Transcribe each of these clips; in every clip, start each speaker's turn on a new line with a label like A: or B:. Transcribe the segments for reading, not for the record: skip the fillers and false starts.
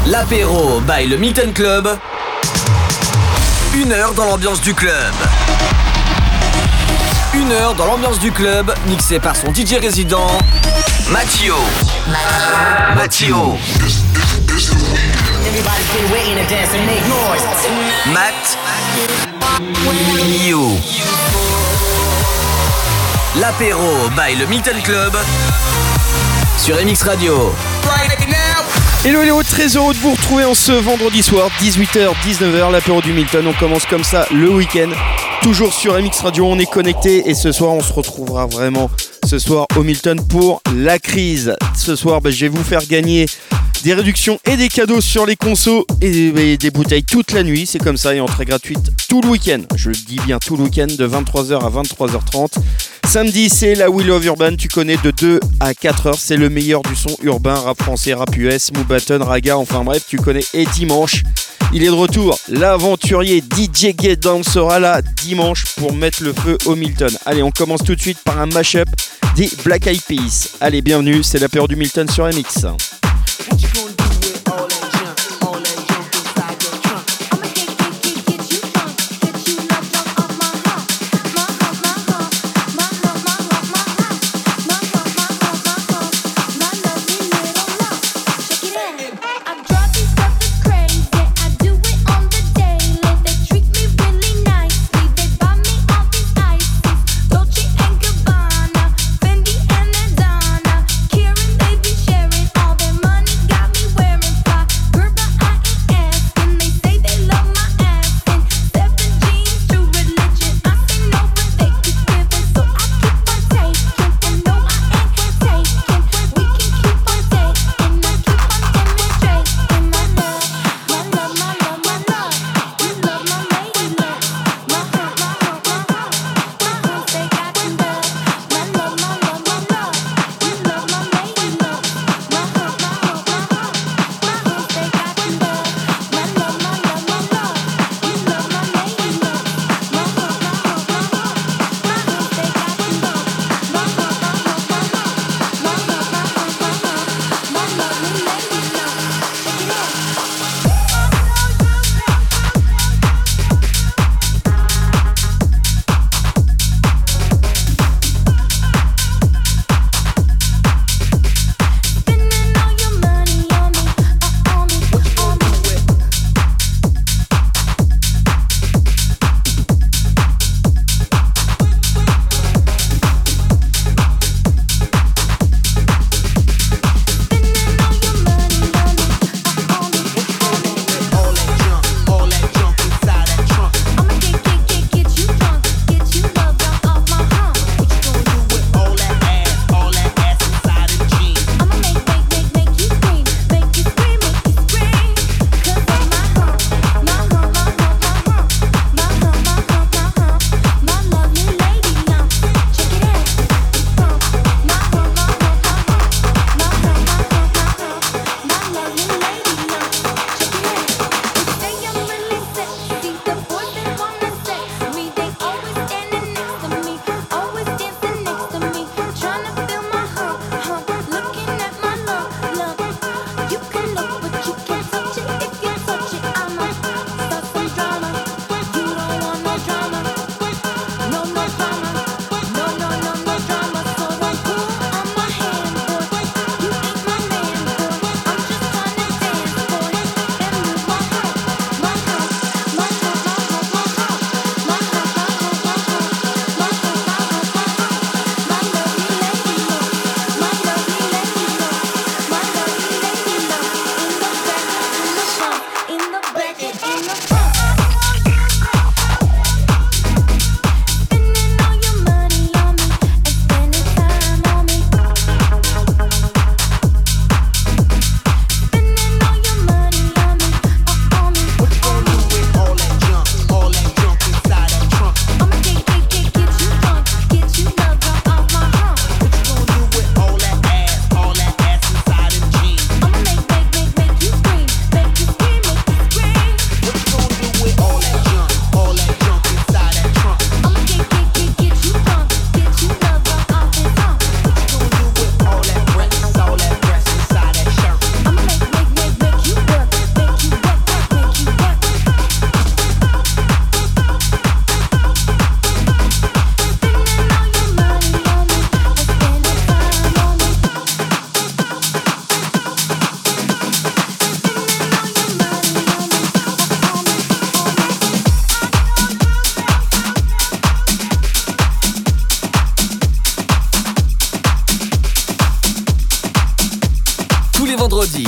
A: L'apéro by le Milton Club. 1 heure dans l'ambiance du club. 1 heure dans l'ambiance du club, mixé par son DJ résident, Mattio. Matt. You. L'apéro by le Milton Club sur MX Radio.
B: Hello, très heureux de vous retrouver en ce vendredi soir, 18h-19h, l'apéro du Milton. On commence comme ça le week-end, toujours sur MX Radio, on est connecté et ce soir on se retrouvera vraiment ce soir au Milton pour la crise. Ce soir je vais vous faire gagner des réductions et des cadeaux sur les consos et des bouteilles toute la nuit, c'est comme ça, et entrée gratuite tout le week-end. Je le dis bien tout le week-end de 23h à 23h30. Samedi, c'est la We Love Urban, tu connais de 2 à 4h, c'est le meilleur du son urbain, rap français, rap US, Moubaton, Raga, enfin bref, tu connais. Et dimanche, il est de retour, l'aventurier DJ Get Down sera là dimanche pour mettre le feu au Milton. Allez, on commence tout de suite par un mash-up des Black Eyed Peas. Allez, bienvenue, c'est l'apéro du Milton sur MX.
C: Fendi and Adana, Kieran, they be sharing all their money.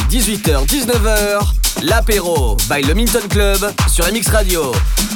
A: 18h, 19h, l'apéro by le Milton Club sur MX Radio.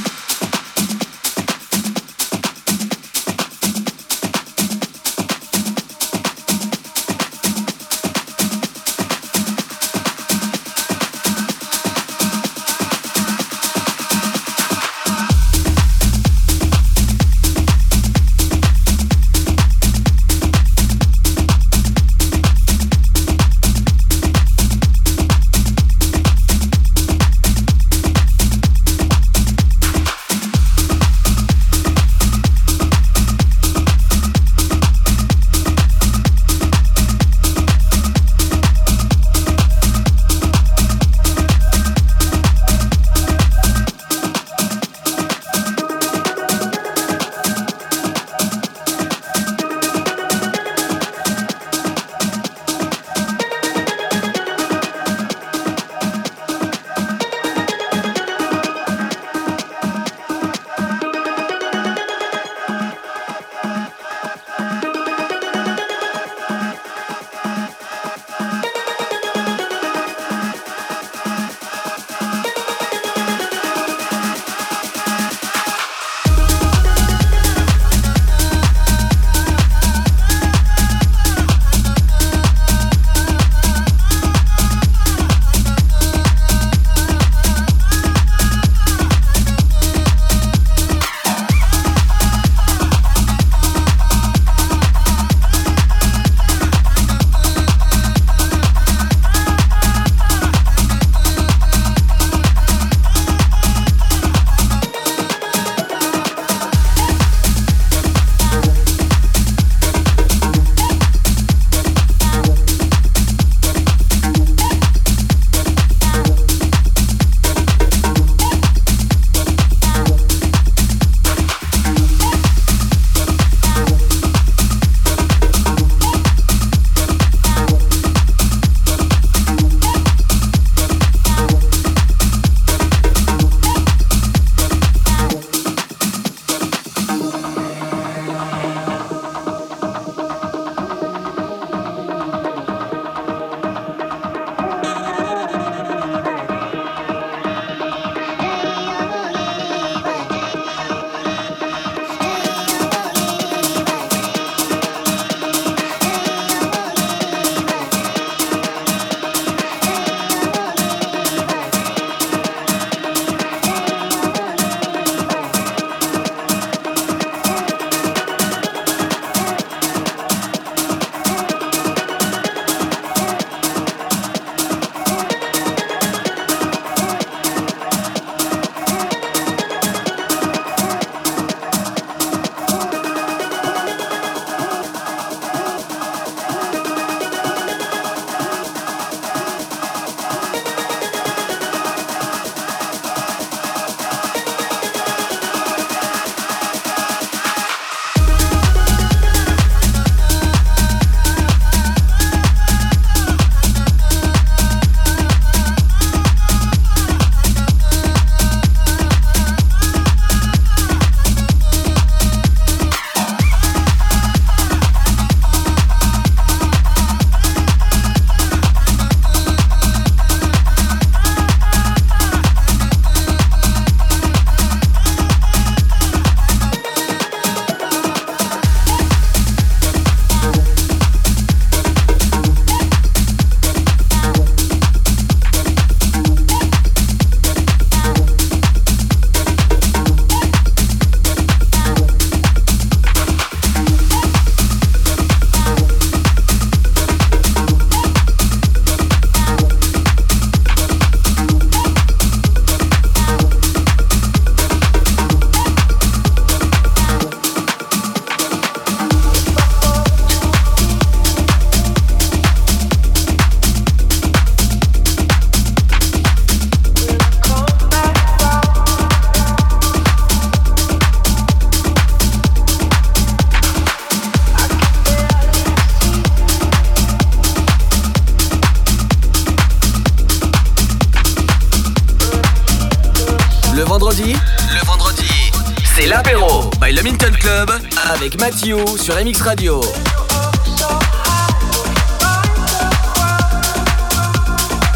A: Le vendredi, c'est l'apéro by le Milton Club avec Mathieu sur MX Radio.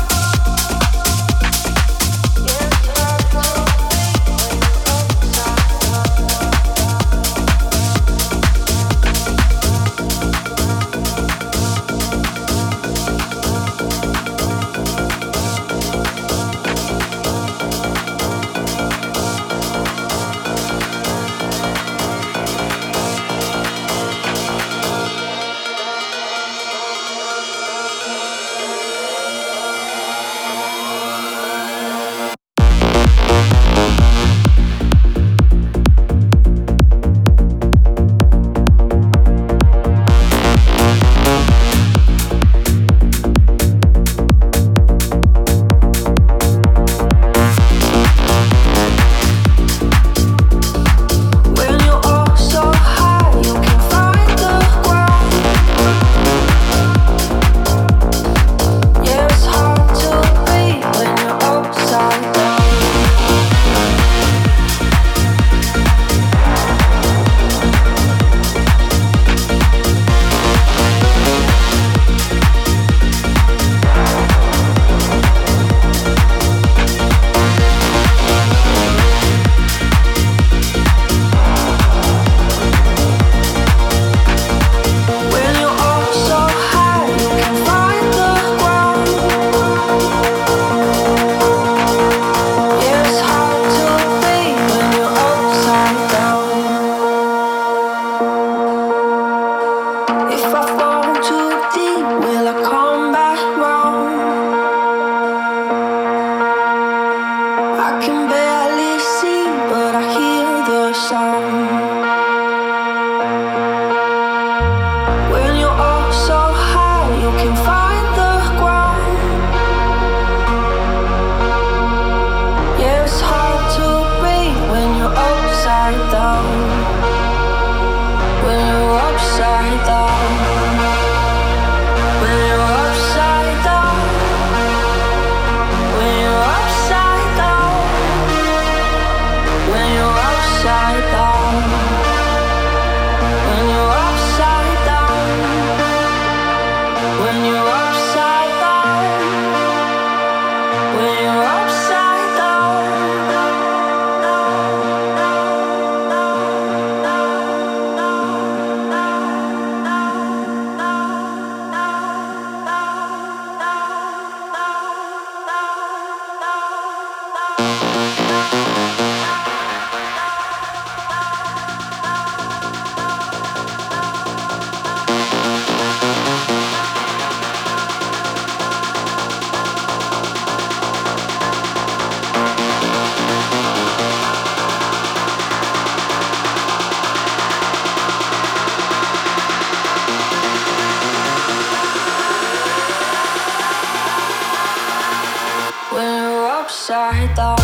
C: upside down.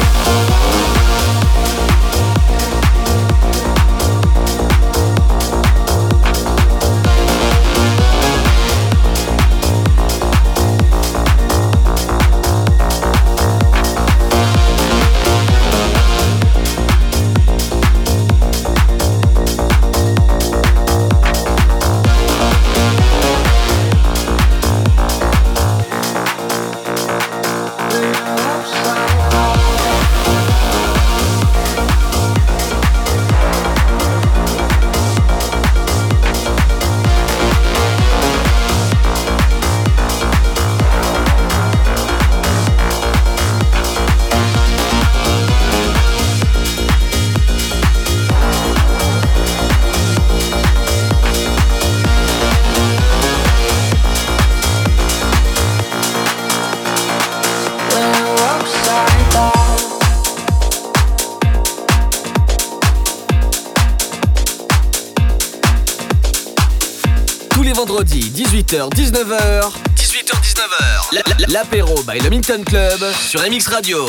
A: Vendredi 18h-19h 18h-19h l'apéro by le Milton Club sur MX Radio.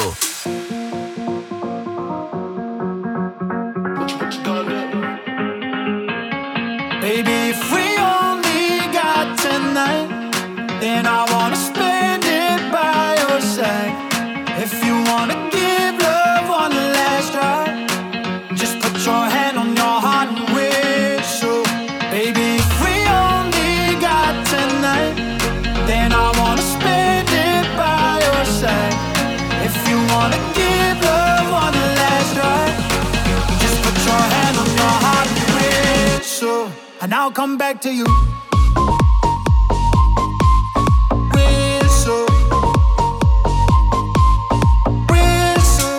D: Baby, if we only got tonight, then I wanna spend it by your side. If you wanna give love one last try, just put your hand on your heart and whistle. Baby, if we only got tonight, then I wanna spend it by your side. If you wanna give love one last try, just put your hand on your heart and whistle, and I'll come back to you. Whistle, whistle,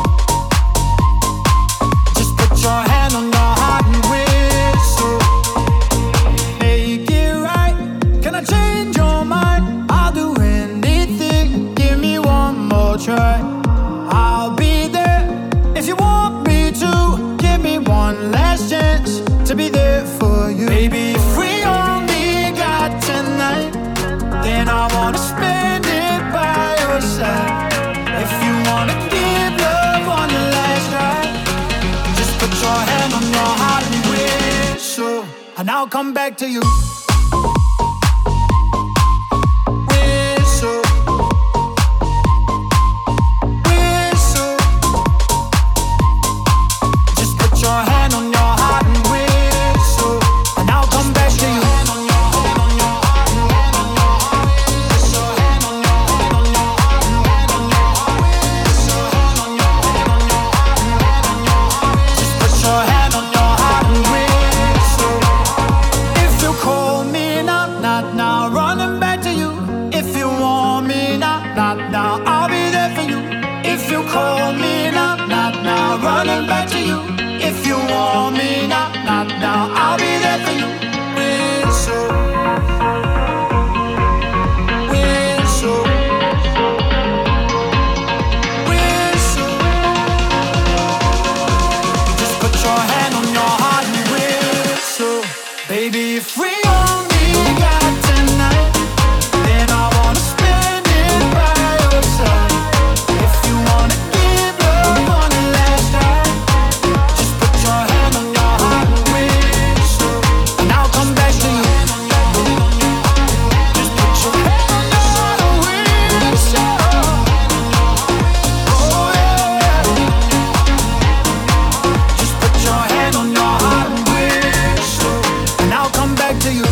D: just put your hand on your heart and whistle. Make it right, can I change your mind? I'll do anything, give me one more try. I'll be there if you want me to. Give me one last chance to be there for you. Baby, if we only got tonight, then I wanna spend it by your side. If you wanna give love one last try, just put your hand on your heart and whistle, and I'll come back to you. Whistle, whistle, just put your hand on your heart and whistle, and I'll come back to you. Put your hand on your heart and whistle. If you call me now, not now, running back to you. If you want me now, not now, I'll be there for you. If you call me now, not now, running back to you. If you want me now, not now, I'll be there for you. Whistle, whistle, whistle. Just put your hand on your heart and whistle. Baby, if we only got tonight, then I wanna spend it by your side. If you wanna give love one last try, just put your hand on your heart and whistle, and I'll come back to you. Just put your hand on your heart and whistle. Oh yeah. Just put your hand on your heart and whistle, and I'll come back to you.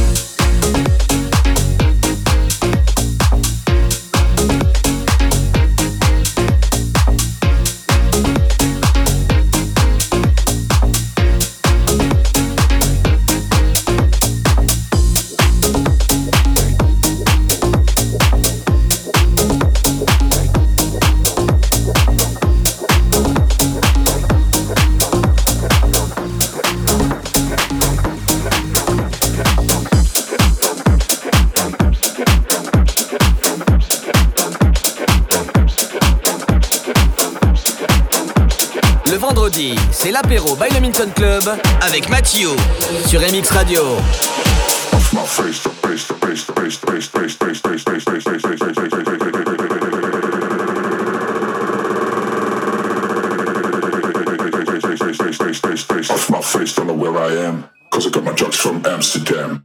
A: Le vendredi, c'est l'apéro by le Milton Club avec Mathieu sur MX Radio.
C: where I am, cause I got my drugs from Amsterdam.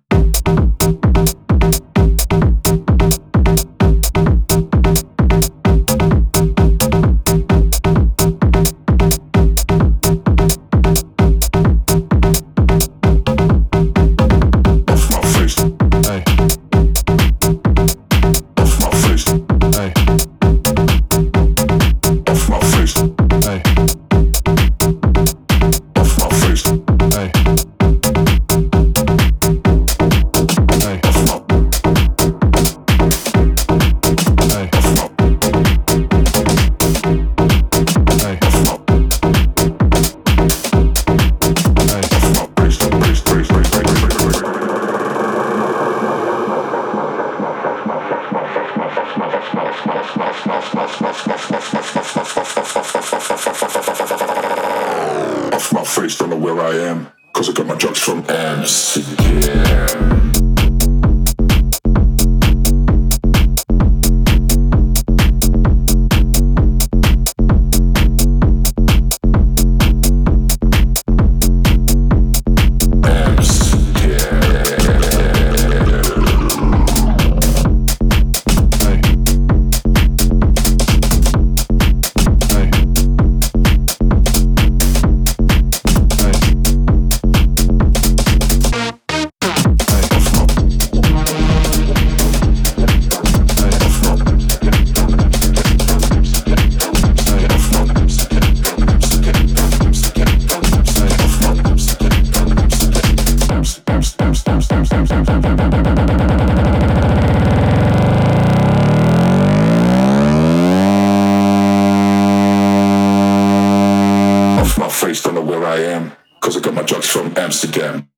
C: Amsterdam.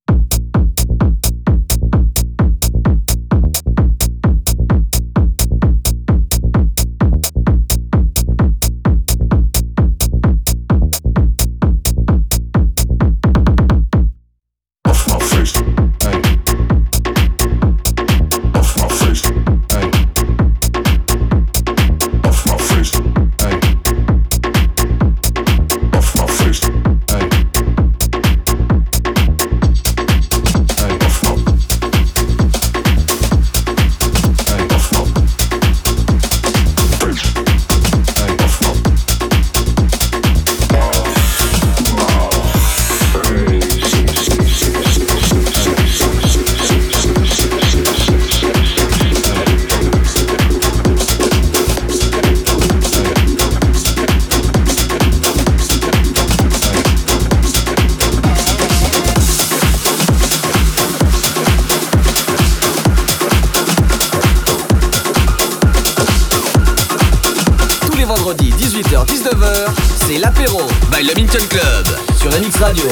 A: Vendredi 18h-19h, c'est l'apéro by Le Minton Club sur MX Radio.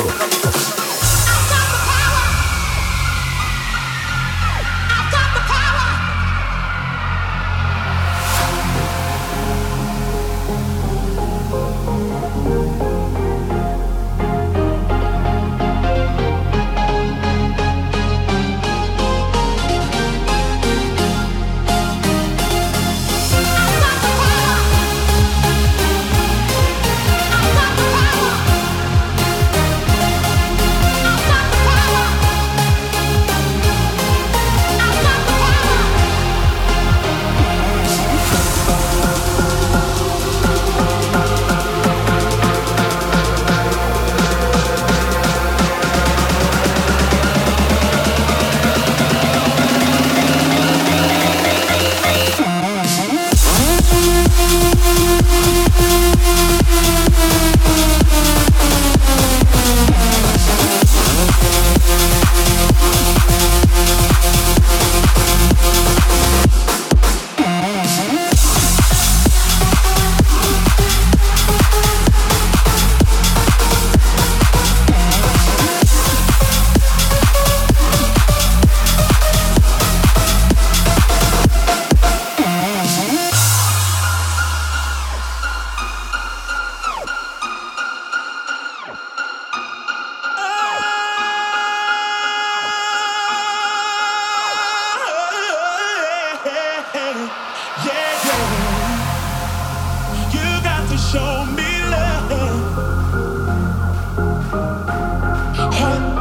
E: show me love.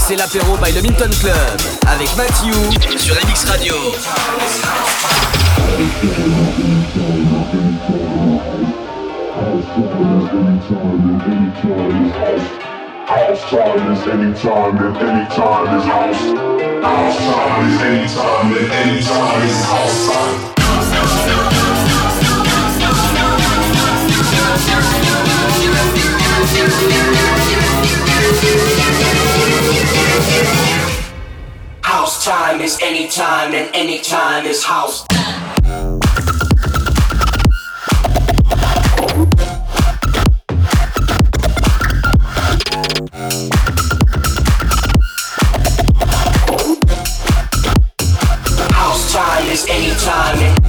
A: C'est l'apéro by le Minton Club avec Mathieu sur MX Radio.
C: House time is anytime and anytime is house. House time is anytime and anytime is house time.
E: House time is anytime and anytime is house. House time is anytime and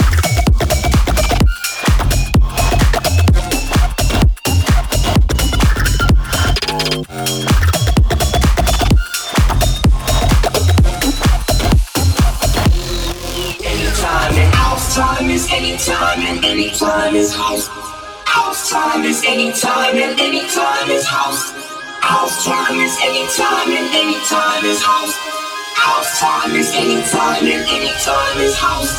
E: anytime and anytime is house. House time is anytime and anytime is house. House time is anytime and anytime is house. House time is anytime and anytime is house.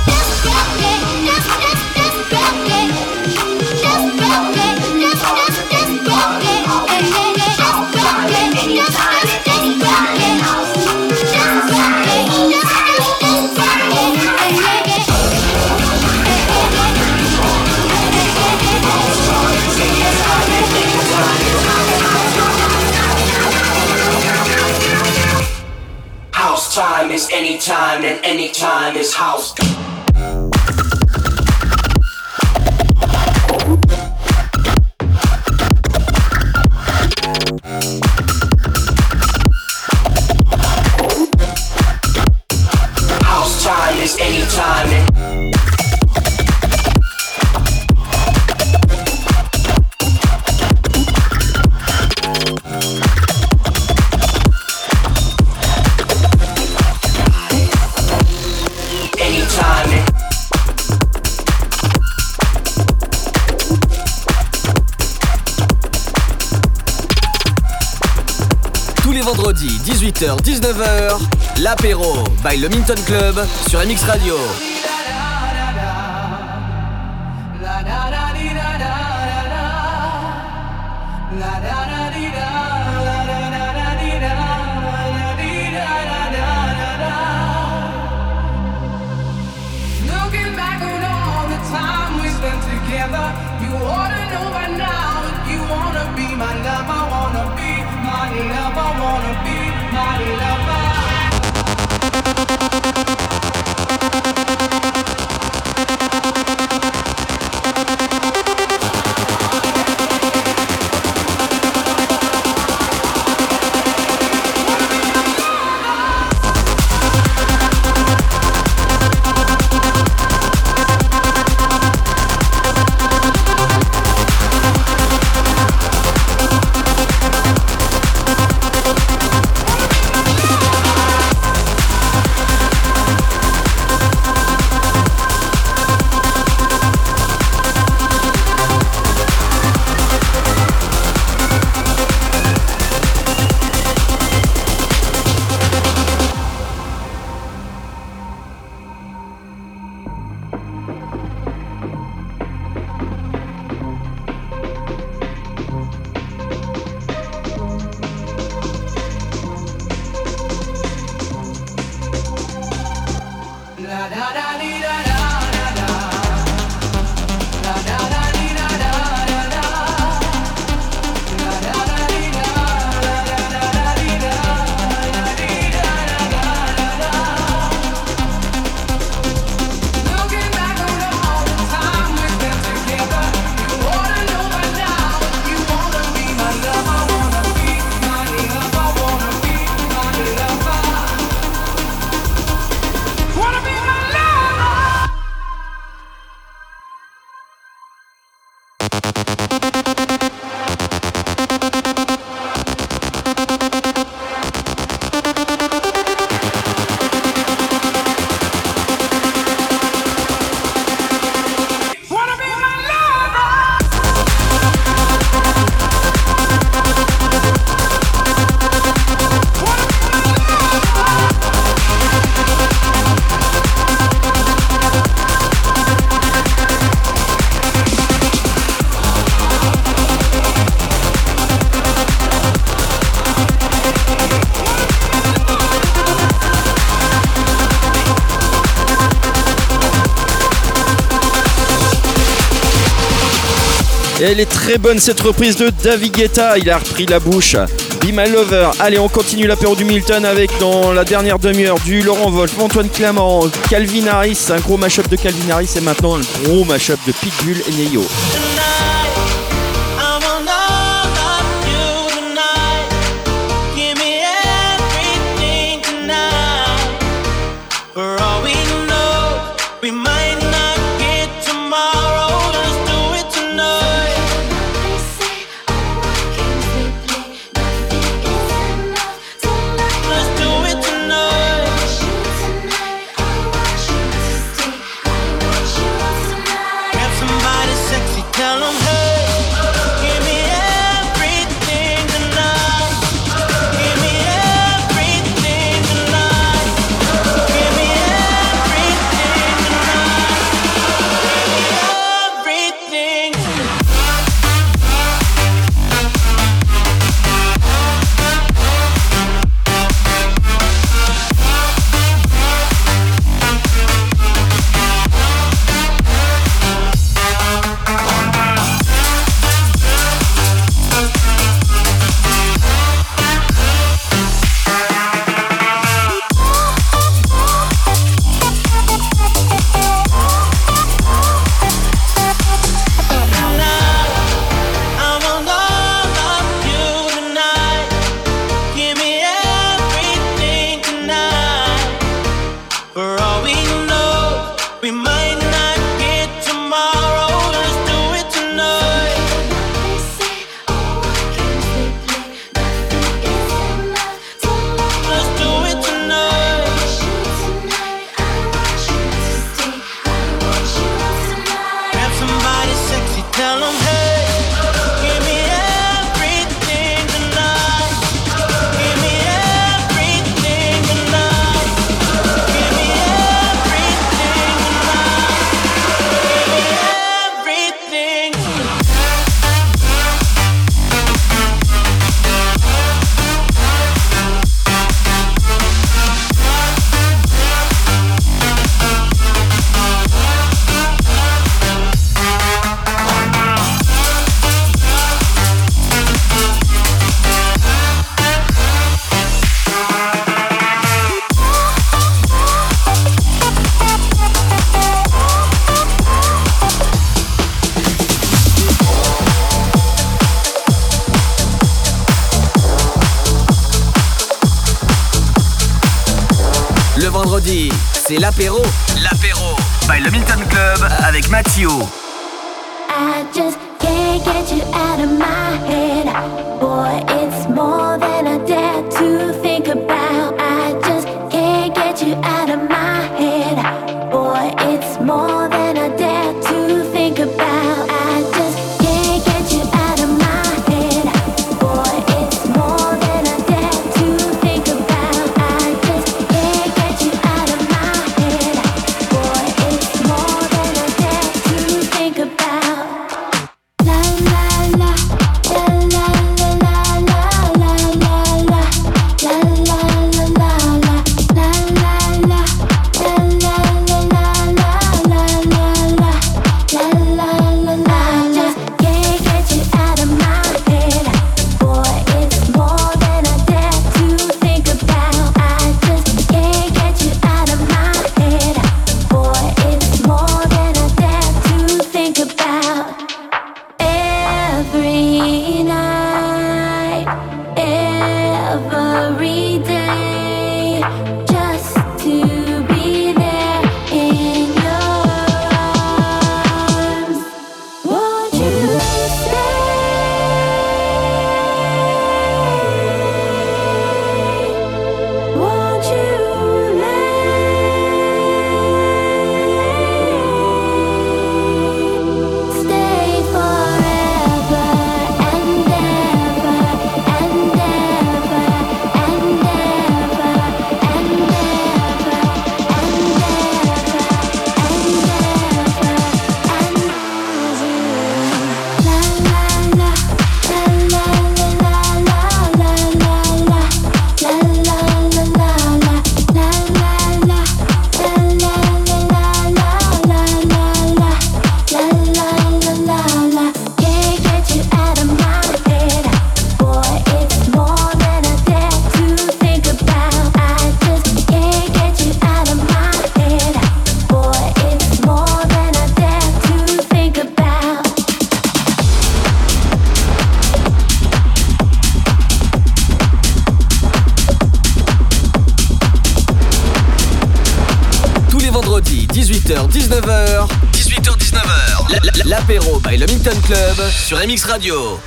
E: House time is anytime and anytime is house. House time is anytime and
A: Vendredi 18h-19h, l'apéro by le Minton Club sur MX Radio.
F: Looking back on all the time we spent together, you ought to know by now that you wanna be my love. I wanna be my love. I wanna be my lover.
B: Et elle est très bonne cette reprise de David Guetta. Il a repris la bouche. Be My Lover. Allez, on continue l'apéro du Milton avec dans la dernière demi-heure du Laurent Wolf, Antoine Clément, Calvin Harris, un gros mash-up de Calvin Harris et maintenant un gros mash-up de Pitbull et Neyo.
A: vendredi, c'est l'apéro. L'apéro by le Milton Club avec Mathieu.
G: I just can't get you out of my head. Boy, it's more than I dare to think about. I just can't get you out of my head. Boy, it's more than I dare to think about. I just can't get you out of my head. Boy, it's more than I dare to think about. I just can't get you out of my head. Boy, it's more than I dare to think about. La la la la la la la la la la la.
A: 18h-19h. 18h-19h. L'apéro by le Milton Club sur MX Radio.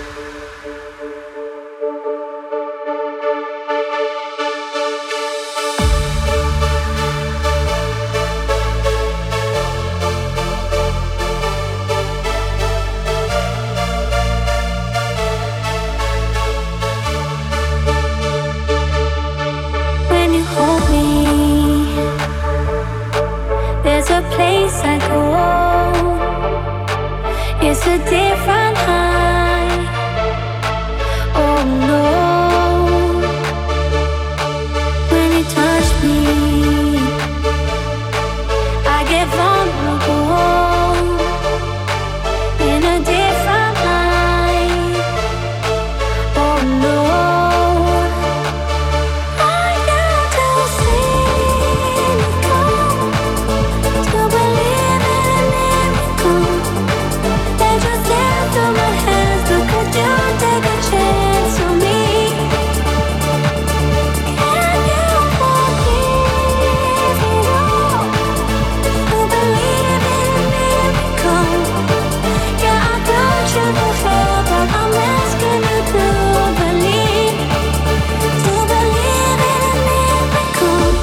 G: It's a different high. Oh no. When you touch me, I get vulnerable in a different light. Oh no. I got to cynical to believe in a miracle. Just step through my hands, but could you take a chance on me? Can you forgive me all? To believe in a miracle. Yeah, I thought you before, but I'm asking you to believe in a miracle.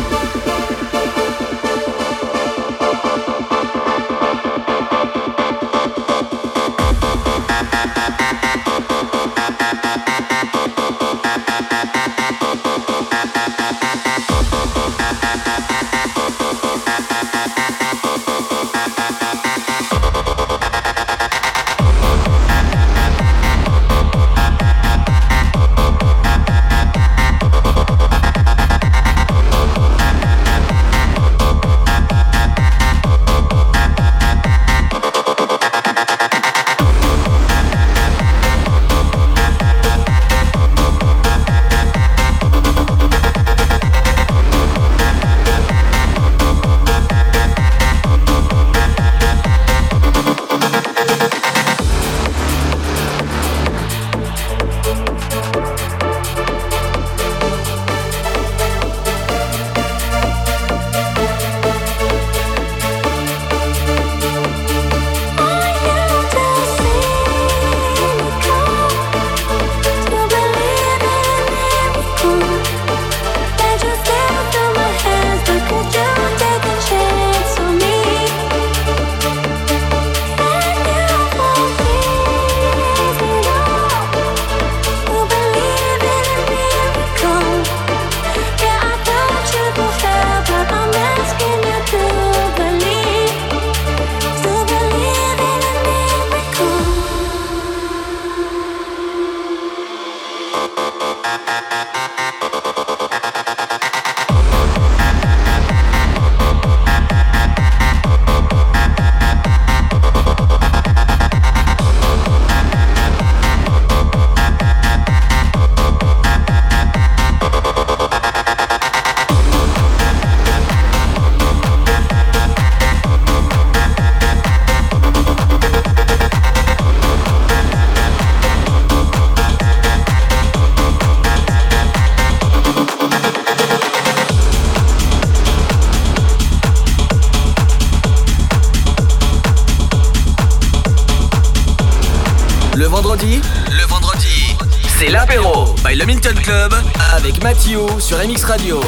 A: Le vendredi, c'est l'apéro by le Milton Club avec Mathieu sur MX Radio.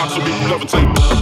C: top, so people levitate.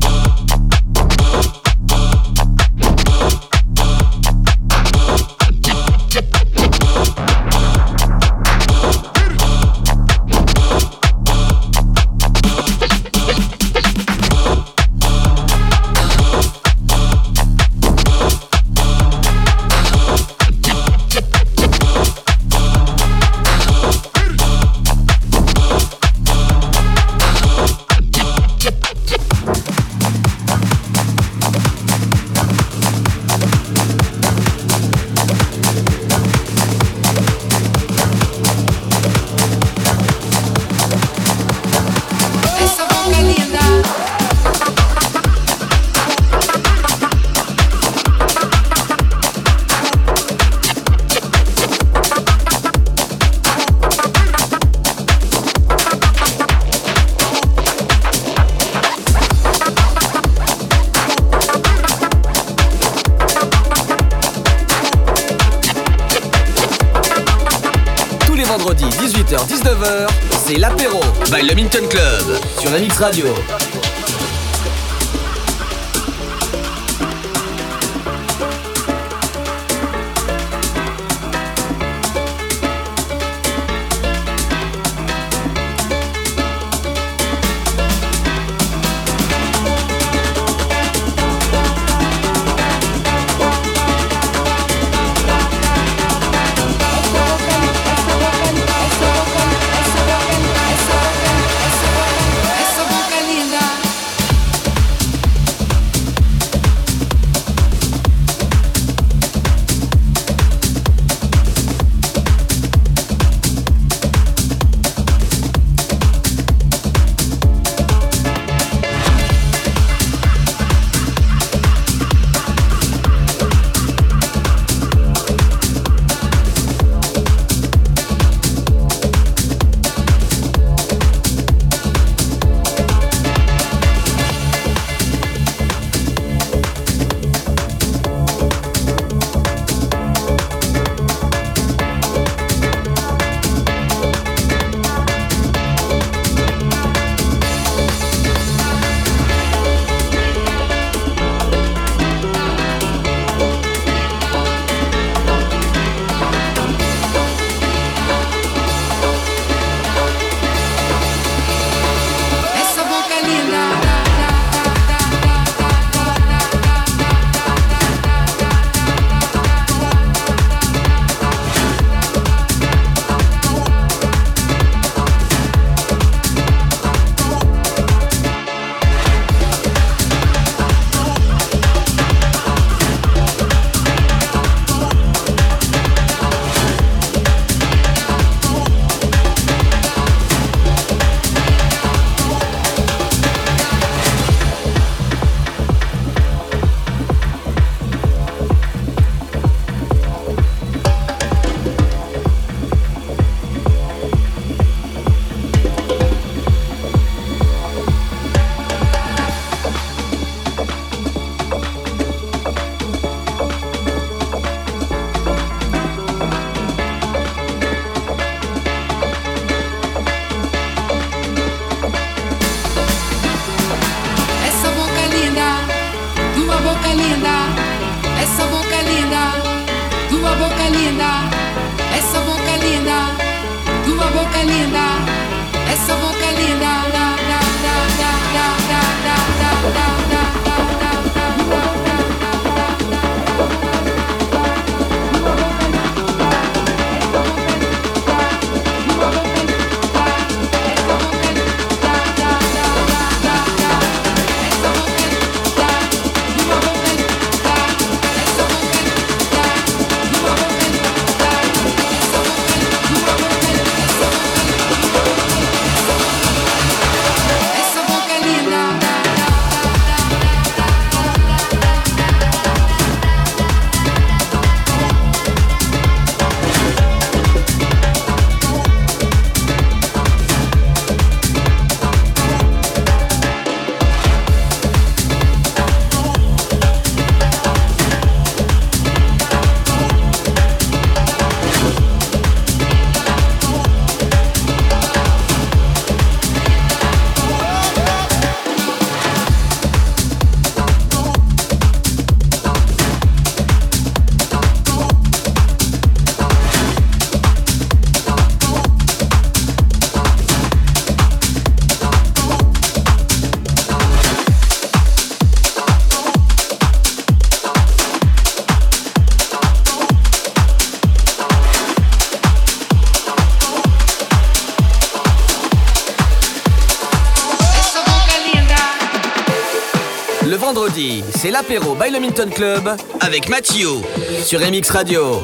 A: Vendredi 18h-19h, c'est l'apéro by le Minton Club sur la Mix Radio. vendredi, c'est l'apéro by le Milton Club avec Mathieu sur MX Radio.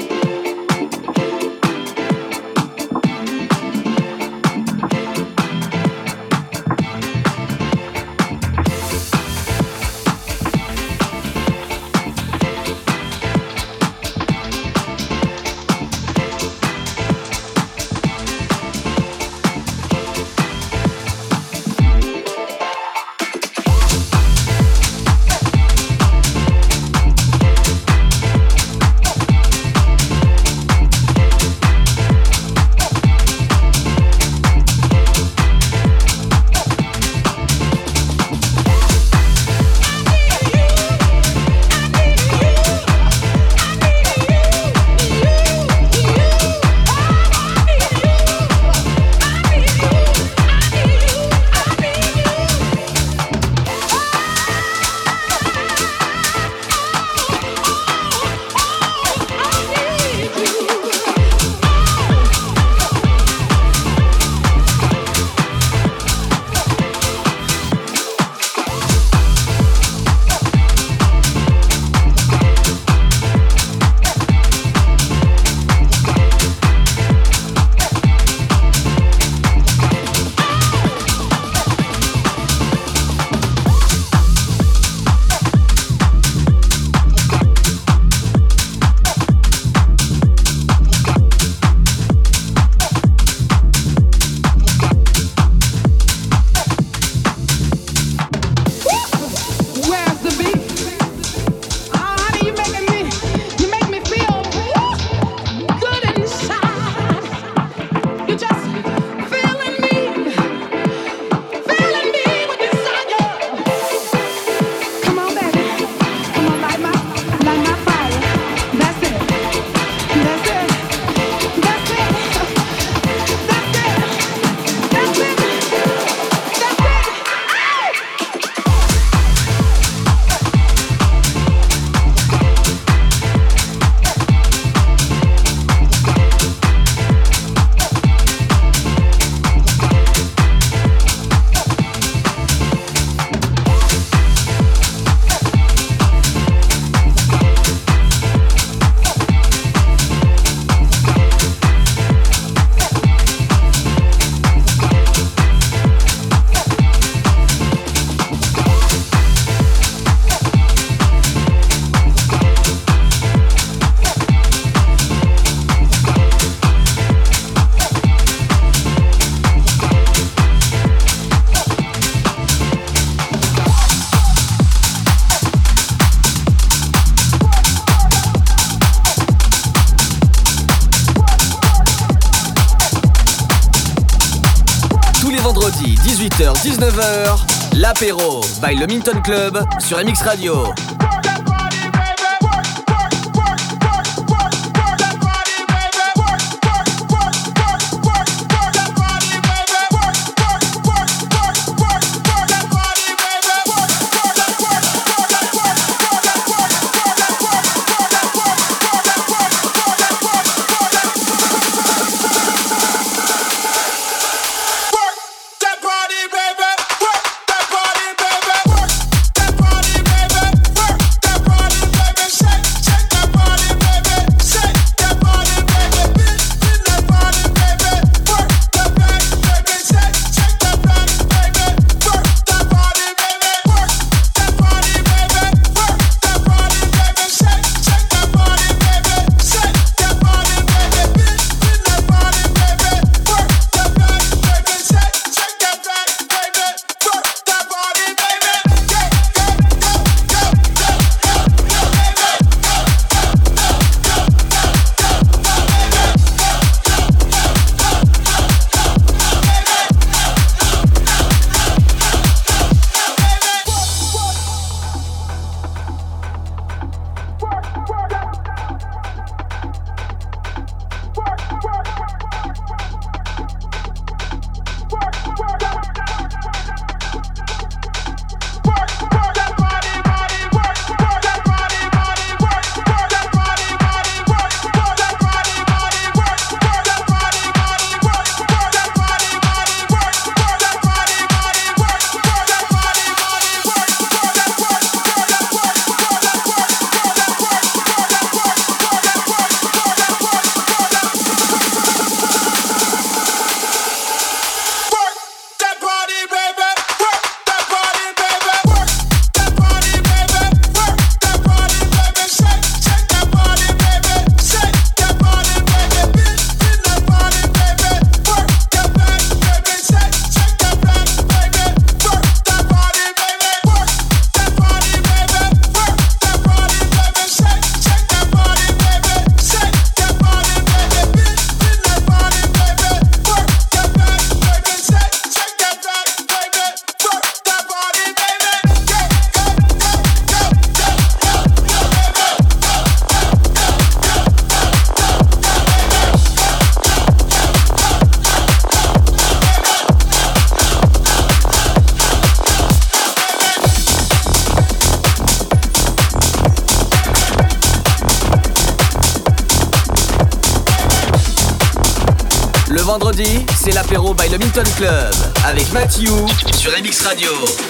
A: Vendredi 18h-19h, l'apéro by le Milton Club sur MX Radio.
H: That body, baby.
A: Le vendredi, c'est l'apéro by le Milton Club avec Mathieu sur MX Radio.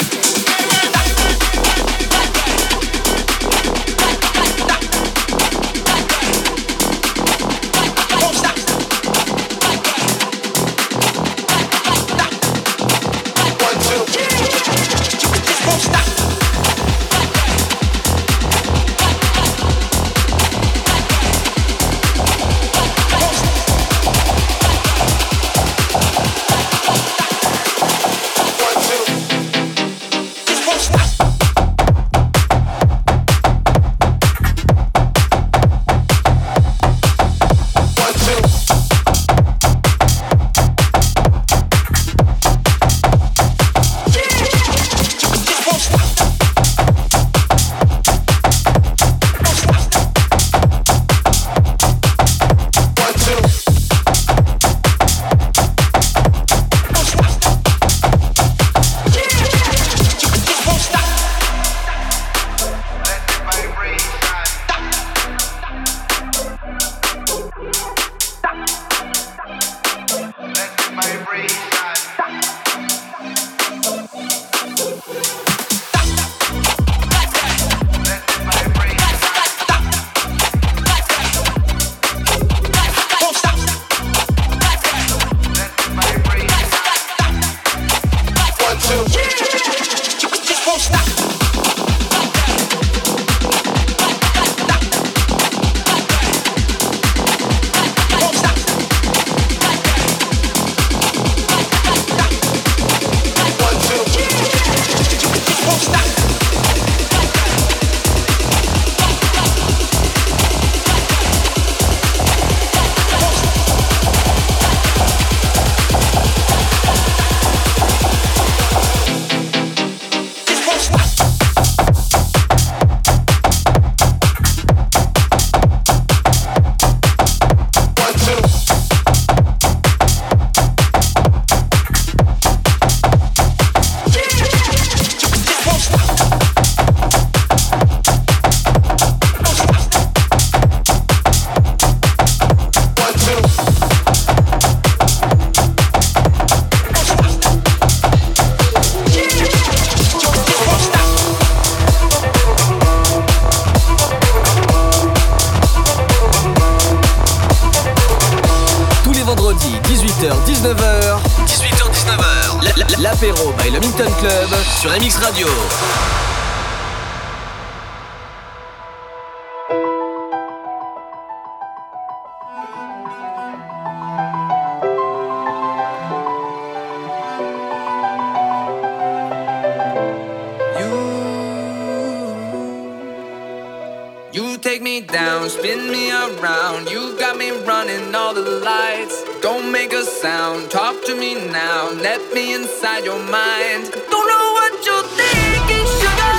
A: L'apéro by le Milton Club sur MX Radio.
F: You take me down, spin me around. You got me running all the lights. Don't make a sound, talk to me now. Let me inside your mind. Don't know what you're thinking, sugar.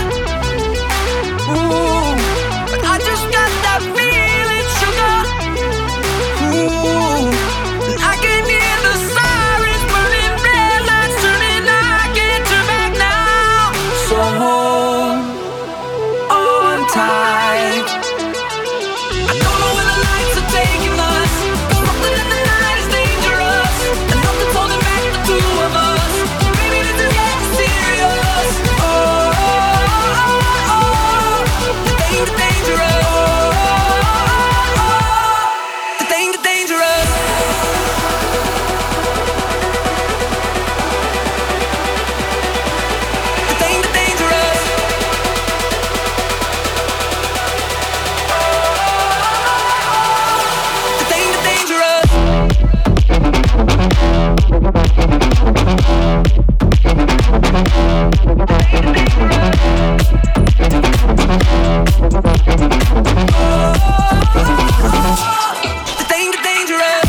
F: Ooh, but I just got that feeling, sugar. Ooh, and I can hear the sirens burning, red lights turning. I can't turn back now. So hold on tight. I don't know where the lights are taking us. Something in the night is dangerous, and nothing's holding back the two of us. Maybe this is getting serious. Oh, oh, oh, oh. The danger, dangerous. Oh, oh, oh. The danger, dangerous. The danger, dangerous. The danger, dangerous. The danger, dangerous.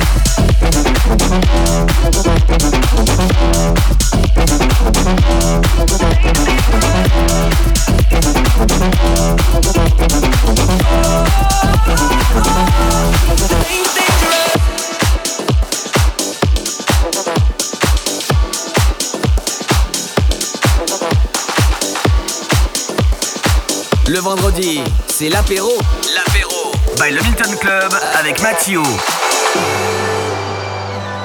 F: The danger, dangerous.
A: Le vendredi, c'est l'apéro. L'apéro by le Milton Club avec Mathieu.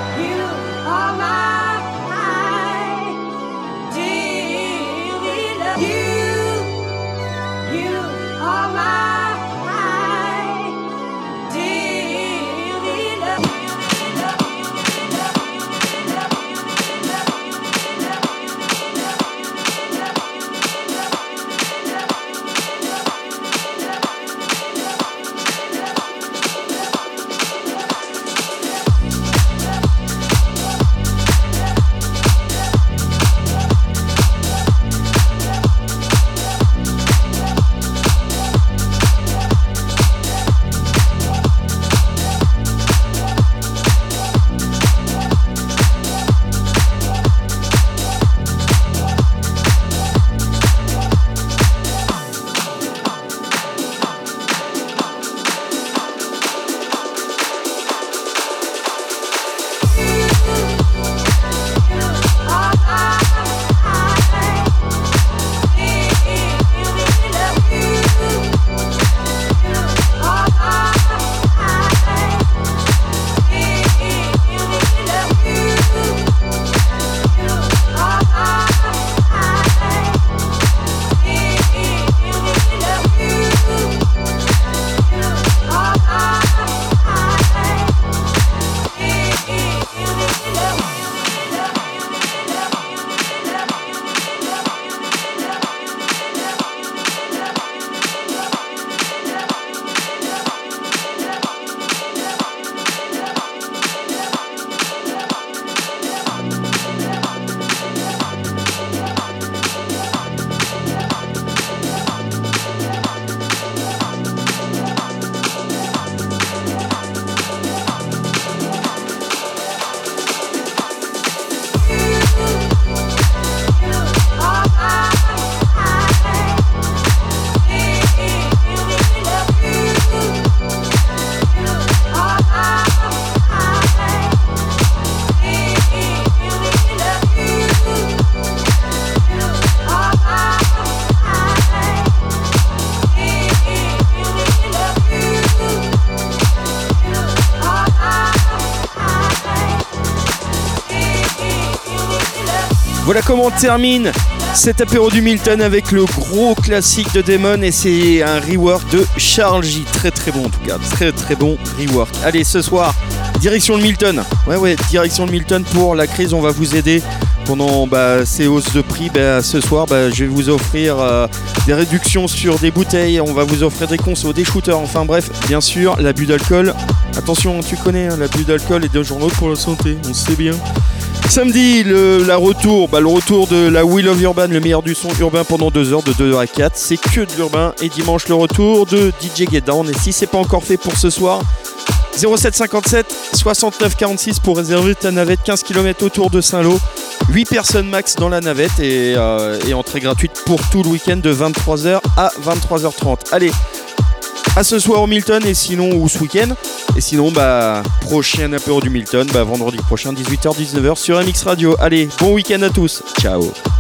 B: Voilà comment on termine cet apéro du Milton avec le gros classique de Damon et c'est un rework de Charles J. Très très bon en tout cas, très très bon rework. Allez, ce soir, direction le Milton. Ouais, direction le Milton pour la crise, on va vous aider pendant ces hausses de prix. Ce soir, je vais vous offrir des réductions sur des bouteilles, on va vous offrir des consos, des shooters, enfin bref, bien sûr, l'abus d'alcool. Attention, tu connais, l'abus d'alcool est dangereux pour la santé, on sait bien. Samedi, le retour de la Wheel of Urban, le meilleur du son urbain pendant 2 heures, de 2h à 4. C'est que de l'urbain. Et dimanche, le retour de DJ Get Down. Et si c'est pas encore fait pour ce soir, 0757 69 46 pour réserver ta navette, 15 km autour de Saint-Lô. 8 personnes max dans la navette et entrée gratuite pour tout le week-end de 23h à 23h30. Allez, à ce soir au Milton et sinon ou ce week-end. Et sinon prochain apéro du Milton vendredi prochain 18h-19h sur MX Radio. Allez, bon week-end à tous. Ciao.